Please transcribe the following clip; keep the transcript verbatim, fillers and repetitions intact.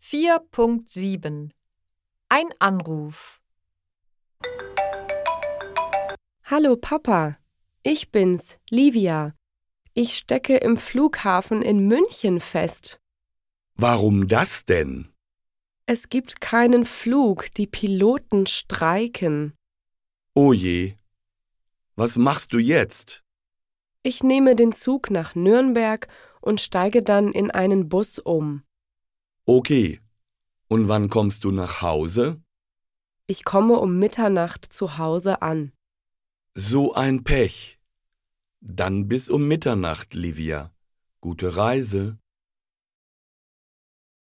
vier Punkt sieben Ein Anruf. Hallo Papa, ich bin's, Livia. Ich stecke im Flughafen in München fest. Warum das denn? Es gibt keinen Flug, die Piloten streiken. Oh je. Was machst du jetzt? Ich nehme den Zug nach Nürnberg und steige dann in einen Bus um. Okay. Und wann kommst du nach Hause? Ich komme um Mitternacht zu Hause an. So ein Pech. Dann bis um Mitternacht, Livia. Gute Reise.